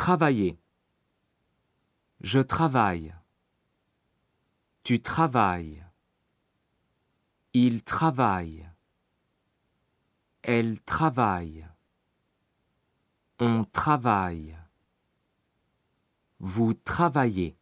Travailler. Je travaille. Tu travailles. Il travaille. Elle travaille. On travaille. Vous travaillez.